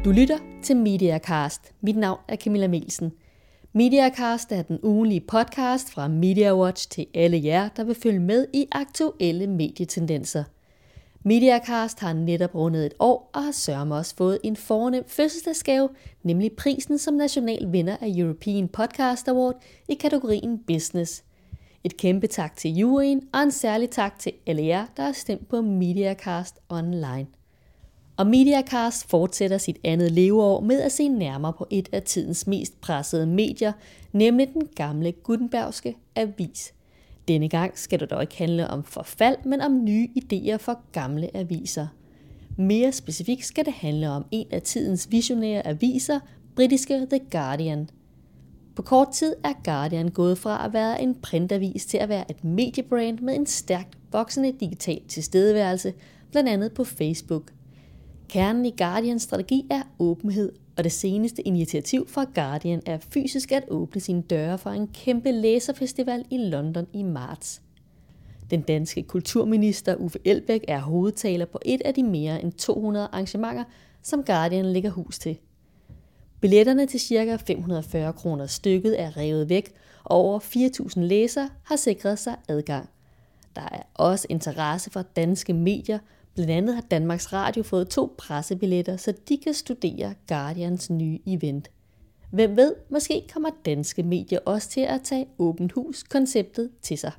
Du lytter til MediaCast. Mit navn er Camilla Melsen. MediaCast er den ugenlige podcast fra MediaWatch til alle jer, der vil følge med i aktuelle medietendenser. MediaCast har netop rundet et år og har sørme også fået en fornem fødselsdagsgave, nemlig prisen som national vinder af European Podcast Award i kategorien Business. Et kæmpe tak til juryen og en særlig tak til alle jer, der har stemt på MediaCast Online. Og MediaCast fortsætter sit andet leveår med at se nærmere på et af tidens mest pressede medier, nemlig den gamle Gutenbergske avis. Denne gang skal det dog ikke handle om forfald, men om nye idéer for gamle aviser. Mere specifikt skal det handle om en af tidens visionære aviser, britiske The Guardian. På kort tid er Guardian gået fra at være en printavis til at være et mediebrand med en stærkt voksende digital tilstedeværelse, blandt andet på Facebook. Kernen i Guardians strategi er åbenhed, og det seneste initiativ fra Guardian er fysisk at åbne sine døre for en kæmpe læserfestival i London i marts. Den danske kulturminister Uffe Elbæk er hovedtaler på et af de mere end 200 arrangementer, som Guardian lægger hus til. Billetterne til ca. 540 kroner stykket er revet væk, og over 4.000 læsere har sikret sig adgang. Der er også interesse for danske medier. Blandt andet har Danmarks Radio fået 2 pressebilletter, så de kan studere Guardians nye event. Hvem ved, måske kommer danske medier også til at tage åbent hus-konceptet til sig.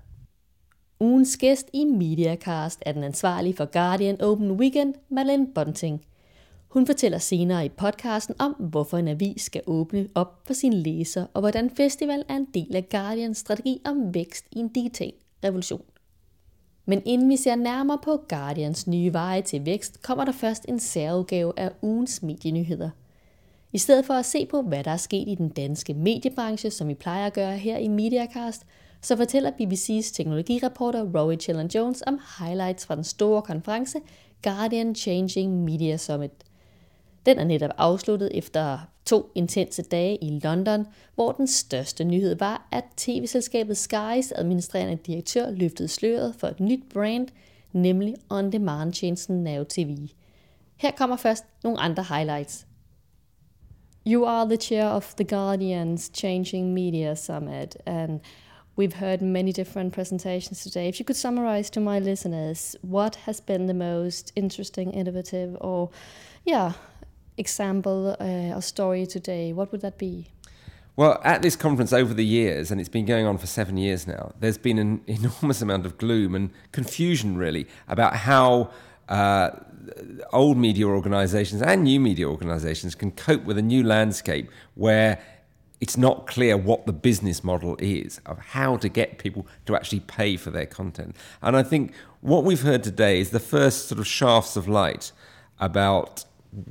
Ugens gæst i MediaCast er den ansvarlige for Guardian Open Weekend, Madeleine Bunting. Hun fortæller senere i podcasten om, hvorfor en avis skal åbne op for sine læsere, og hvordan festival er en del af Guardians strategi om vækst i en digital revolution. Men inden vi ser nærmere på Guardians nye veje til vækst, kommer der først en særudgave af ugens medienyheder. I stedet for at se på, hvad der er sket i den danske mediebranche, som vi plejer at gøre her i MediaCast, så fortæller BBC's teknologireporter Rory Chellan-Jones om highlights fra den store konference Guardian Changing Media Summit. Den er netop afsluttet efter 2 intense dage i London, hvor den største nyhed var, at tv-selskabet Sky's administrerende direktør løftede sløret for et nyt brand, nemlig on-demand-tjenesten Now TV. Her kommer først nogle andre highlights. You are the chair of the Guardian's Changing Media Summit, and we've heard many different presentations today. If you could summarize to my listeners, what has been the most interesting, innovative, or example or story today, what would that be? Well, at this conference over the years, and it's been going on for 7 years now, there's been an enormous amount of gloom and confusion, really, about how old media organisations and new media organisations can cope with a new landscape where it's not clear what the business model is of how to get people to actually pay for their content. And I think what we've heard today is the first sort of shafts of light about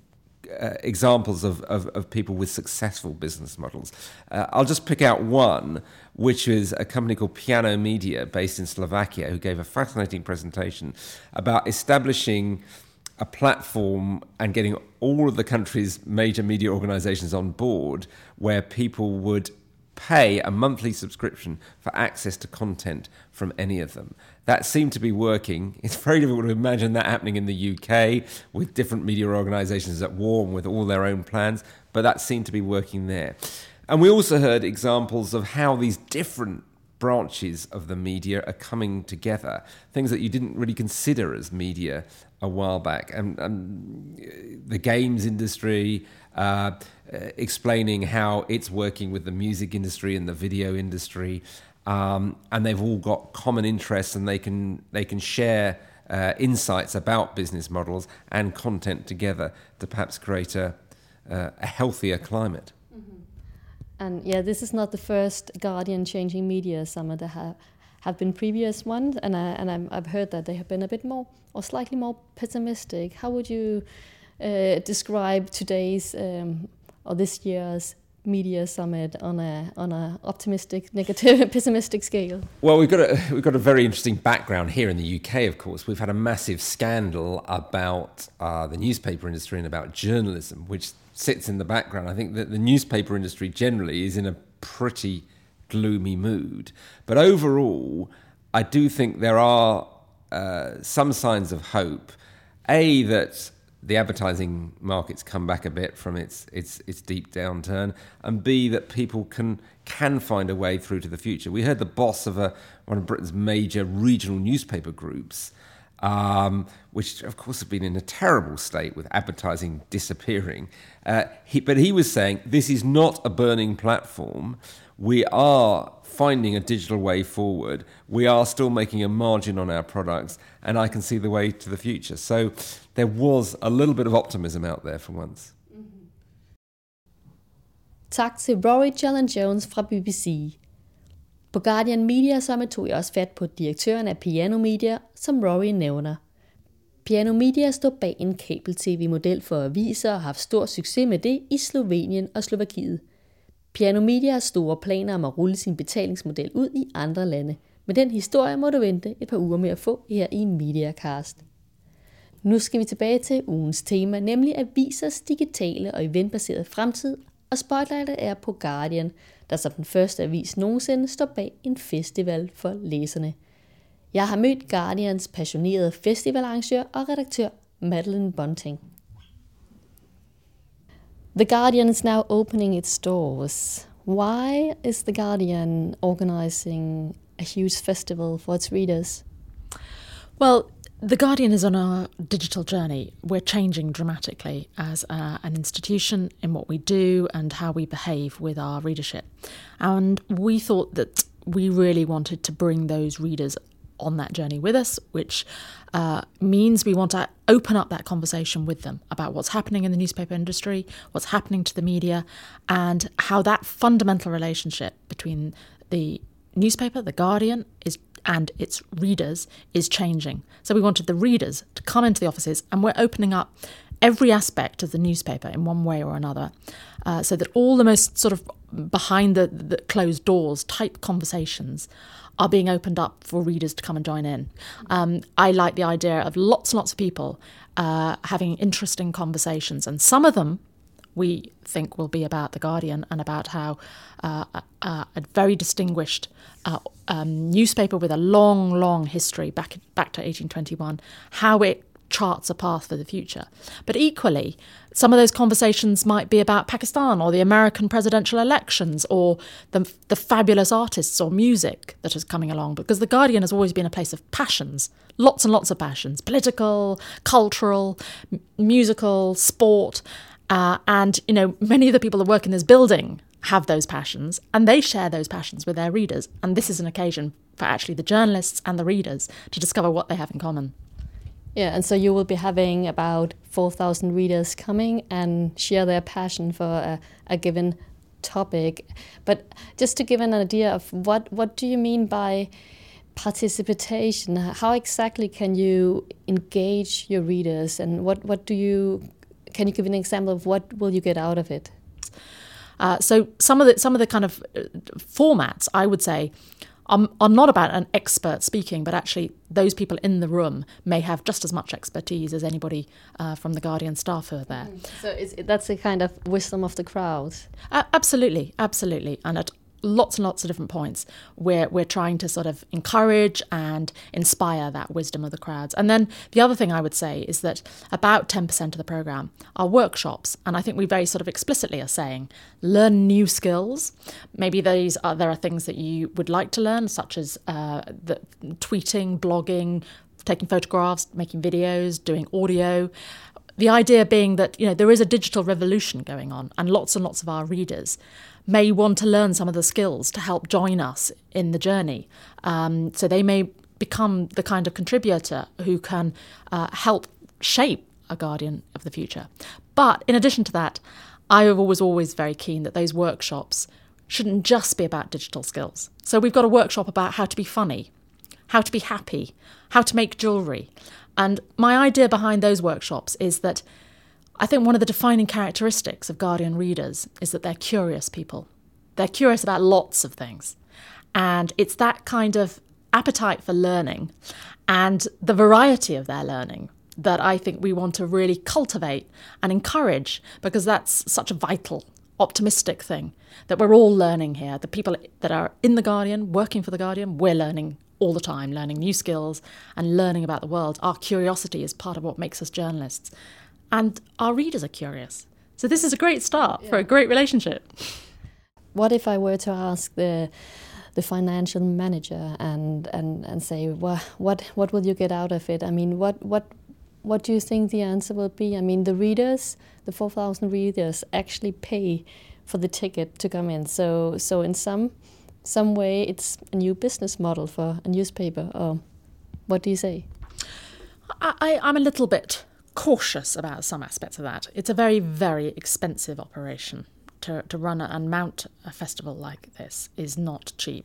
examples of people with successful business models. I'll just pick out one, which is a company called Piano Media based in Slovakia, who gave a fascinating presentation about establishing a platform and getting all of the country's major media organizations on board where people would pay a monthly subscription for access to content from any of them. That seemed to be working. It's very difficult to imagine that happening in the UK with different media organisations at war and with all their own plans, but that seemed to be working there. And we also heard examples of how these different branches of the media are coming together, things that you didn't really consider as media a while back. And the games industry, explaining how it's working with the music industry and the video industry, and they've all got common interests, and they can share insights about business models and content together to perhaps create a healthier climate. And this is not the first Guardian Changing Media Summit. There have been previous ones, and I've heard that they have been a bit more or slightly more pessimistic. How would you describe today's or this year's media summit on a optimistic, negative, pessimistic scale? Well, we've got a very interesting background here in the UK. Of course, we've had a massive scandal about the newspaper industry and about journalism, which sits in the background. I think that the newspaper industry generally is in a pretty gloomy mood, but overall, I do think there are some signs of hope. That the advertising market's come back a bit from its deep downturn, and B, that people can find a way through to the future. We heard the boss of one of Britain's major regional newspaper groups, which of course have been in a terrible state with advertising disappearing. But he was saying, this is not a burning platform. We are finding a digital way forward. We are still making a margin on our products, and I can see the way to the future. So there was a little bit of optimism out there for once. Tak til Rory Cellan-Jones fra BBC. På Guardian Media Summit tog jeg også fat på direktøren af Piano Media, som Rory nævner. Piano Media stod bag en kabel-tv-model for aviser og har haft stor succes med det i Slovenien og Slovakiet. Piano Media har store planer om at rulle sin betalingsmodel ud i andre lande, men den historie må du vente et par uger med at få her i Mediacast. Nu skal vi tilbage til ugens tema, nemlig avisers digitale og eventbaserede fremtid, og spotlightet er på Guardian, der som den første avis nogensinde står bag en festival for læserne. Jeg har mødt Guardians passionerede festivalarrangør og redaktør Madeleine Bunting. The Guardian is now opening its doors. Why is The Guardian organizing a huge festival for its readers? Well, The Guardian is on a digital journey. We're changing dramatically as an institution in what we do and how we behave with our readership. And we thought that we really wanted to bring those readers on that journey with us, which means we want to open up that conversation with them about what's happening in the newspaper industry, what's happening to the media, and how that fundamental relationship between the newspaper, The Guardian, and its readers is changing. So we wanted the readers to come into the offices, and we're opening up every aspect of the newspaper in one way or another, so that all the most sort of behind the closed doors type conversations are being opened up for readers to come and join in. I like the idea of lots and lots of people having interesting conversations, and some of them we think will be about The Guardian and about how a very distinguished newspaper with a long history back to 1821, how it charts a path for the future. But equally, some of those conversations might be about Pakistan or the American presidential elections or the fabulous artists or music that is coming along, because The Guardian has always been a place of passions, lots and lots of passions, political, cultural, musical, sport, and many of the people that work in this building have those passions, and they share those passions with their readers, and this is an occasion for actually the journalists and the readers to discover what they have in common. Yeah, and so you will be having about 4,000 readers coming and share their passion for a given topic. But just to give an idea of what do you mean by participation? How exactly can you engage your readers, and can you give an example of what will you get out of it? So some of the kind of formats, I would say, are not about an expert speaking, but actually those people in the room may have just as much expertise as anybody from the Guardian staff who are there. So that's a kind of wisdom of the crowd. Absolutely. And at lots and lots of different points we're trying to sort of encourage and inspire that wisdom of the crowds. And then the other thing I would say is that about 10% of the programme are workshops, and I think we very sort of explicitly are saying learn new skills. Maybe there are things that you would like to learn, such as the tweeting, blogging, taking photographs, making videos, doing audio. The idea being that there is a digital revolution going on, and lots of our readers may want to learn some of the skills to help join us in the journey. So they may become the kind of contributor who can help shape a Guardian of the future. But in addition to that, I was always very keen that those workshops shouldn't just be about digital skills. So we've got a workshop about how to be funny, how to be happy, how to make jewellery. And my idea behind those workshops is that I think one of the defining characteristics of Guardian readers is that they're curious people. They're curious about lots of things. And it's that kind of appetite for learning and the variety of their learning that I think we want to really cultivate and encourage, because that's such a vital, optimistic thing, that we're all learning here. The people that are in The Guardian, working for The Guardian, we're learning all the time, learning new skills and learning about the world. Our curiosity is part of what makes us journalists. and our readers are curious. So this is a great start for a great relationship. What if I were to ask the financial manager and say, well, what will you get out of it? I mean, what do you think the answer will be? I mean, the readers, the 4,000 readers, actually pay for the ticket to come in. So in some way, it's a new business model for a newspaper. Or what do you say? I'm a little bit cautious about some aspects of that. It's a very, very expensive operation. To run and mount a festival like this is not cheap.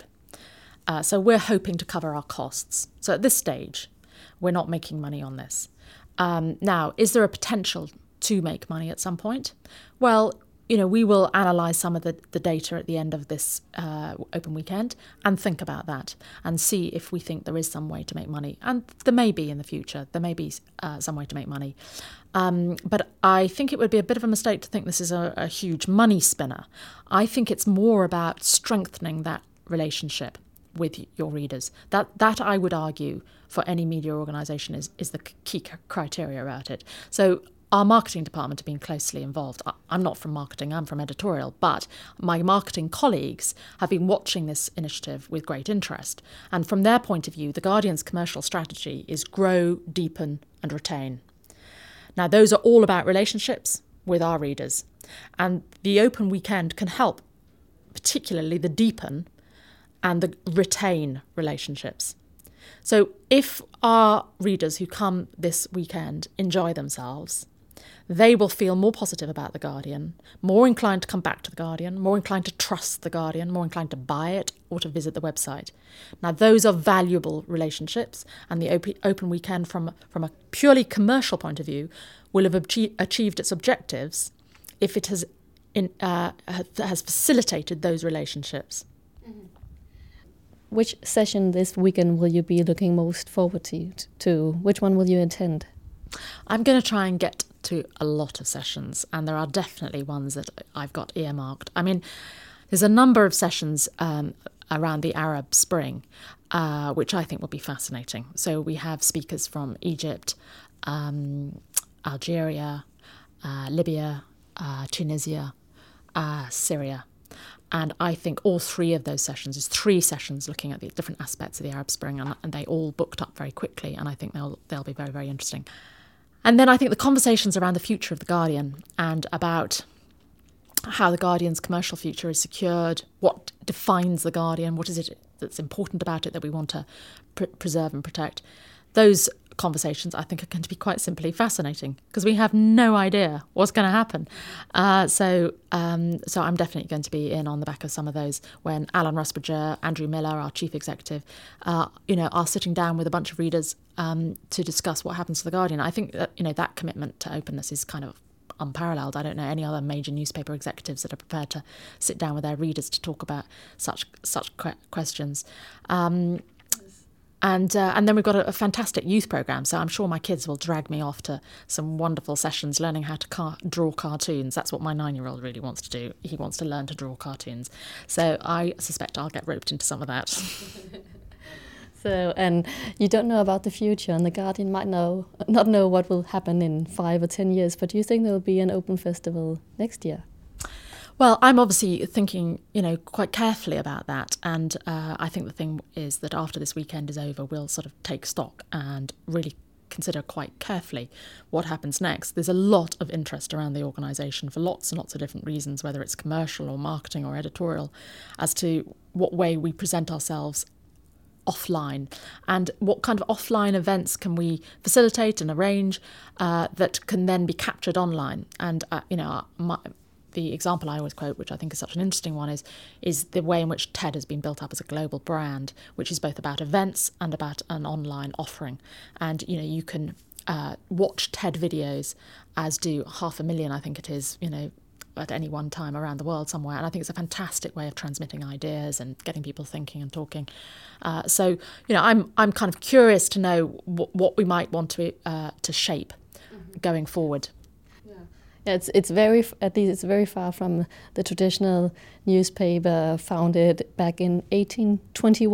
So we're hoping to cover our costs. So at this stage, we're not making money on this. Now, is there a potential to make money at some point? Well, we will analyse some of the data at the end of this open weekend and think about that and see if we think there is some way to make money. And there may be in the future. There may be some way to make money. But I think it would be a bit of a mistake to think this is a huge money spinner. I think it's more about strengthening that relationship with your readers. That I would argue for any media organisation is the key criteria about it. So our marketing department have been closely involved. I'm not from marketing, I'm from editorial, but my marketing colleagues have been watching this initiative with great interest. And from their point of view, The Guardian's commercial strategy is grow, deepen and retain. Now, those are all about relationships with our readers. And the open weekend can help, particularly the deepen and the retain relationships. So if our readers who come this weekend enjoy themselves, they will feel more positive about The Guardian, more inclined to come back to The Guardian, more inclined to trust The Guardian, more inclined to buy it or to visit the website. Now, those are valuable relationships, and the open weekend from a purely commercial point of view will have achieved its objectives if it has facilitated those relationships. Which session this weekend will you be looking most forward to? Which one will you attend? I'm going to try and get to a lot of sessions, and there are definitely ones that I've got earmarked. I mean, there's a number of sessions around the Arab Spring, which I think will be fascinating. So we have speakers from Egypt, Algeria, Libya, Tunisia, Syria. And I think all three of those sessions is 3 sessions looking at the different aspects of the Arab Spring, and they all booked up very quickly, and I think they'll be very, very interesting. And then I think the conversations around the future of The Guardian and about how The Guardian's commercial future is secured, what defines The Guardian, what is it that's important about it that we want to preserve and protect, those conversations I think are going to be quite simply fascinating because we have no idea what's going to happen. So I'm definitely going to be in on the back of some of those when Alan Rusbridger, Andrew Miller, our chief executive, are sitting down with a bunch of readers to discuss what happens to The Guardian. I think that that commitment to openness is kind of unparalleled. I don't know any other major newspaper executives that are prepared to sit down with their readers to talk about such questions. And then we've got a fantastic youth programme, so I'm sure my kids will drag me off to some wonderful sessions learning how to draw cartoons. That's what my 9-year-old really wants to do. He wants to learn to draw cartoons. So I suspect I'll get roped into some of that. So, and you don't know about the future, and The Guardian might not know what will happen in 5 or 10 years, but do you think there will be an open festival next year? Well, I'm obviously thinking, quite carefully about that. And I think the thing is that after this weekend is over, we'll sort of take stock and really consider quite carefully what happens next. There's a lot of interest around the organisation for lots and lots of different reasons, whether it's commercial or marketing or editorial, as to what way we present ourselves offline and what kind of offline events can we facilitate and arrange that can then be captured online. And, the example I always quote, which I think is such an interesting one, is the way in which TED has been built up as a global brand, which is both about events and about an online offering. And, you can watch TED videos, as do 500,000, I think it is, at any one time around the world somewhere. And I think it's a fantastic way of transmitting ideas and getting people thinking and talking. So, I'm kind of curious to know what we might want to shape going forward. It's very far from the traditional newspaper founded back in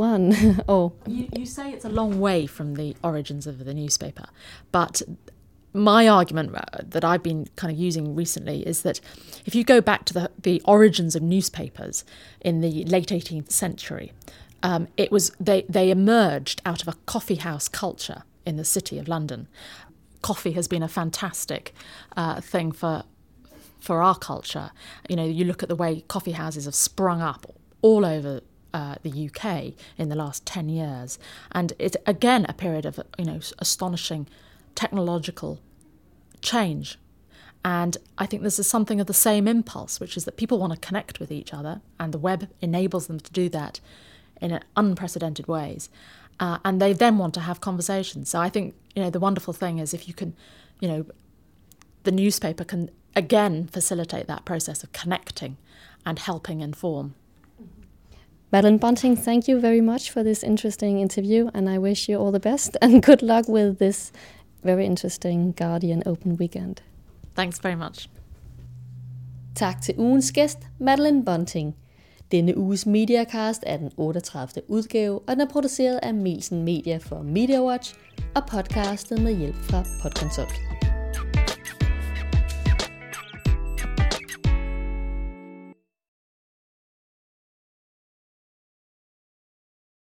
1821. You say it's a long way from the origins of the newspaper, but my argument that I've been kind of using recently is that if you go back to the origins of newspapers in the late 18th century, it was they emerged out of a coffee house culture in the city of London. Coffee has been a fantastic thing for our culture. You know, you look at the way coffee houses have sprung up all over the UK in the last 10 years, and it's again a period of astonishing technological change. And I think this is something of the same impulse, which is that people want to connect with each other, and the web enables them to do that in unprecedented ways. And they then want to have conversations. So I think, the wonderful thing is if you can, the newspaper can again facilitate that process of connecting and helping inform. Madeleine Bunting, thank you very much for this interesting interview, and I wish you all the best and good luck with this very interesting Guardian Open Weekend. Thanks very much. Tak til ugens gæst, Madeleine Bunting. Denne uges Mediacast er den 38. udgave, og den er produceret af Mielsen Media for MediaWatch og podcastet med hjælp fra Podconsult.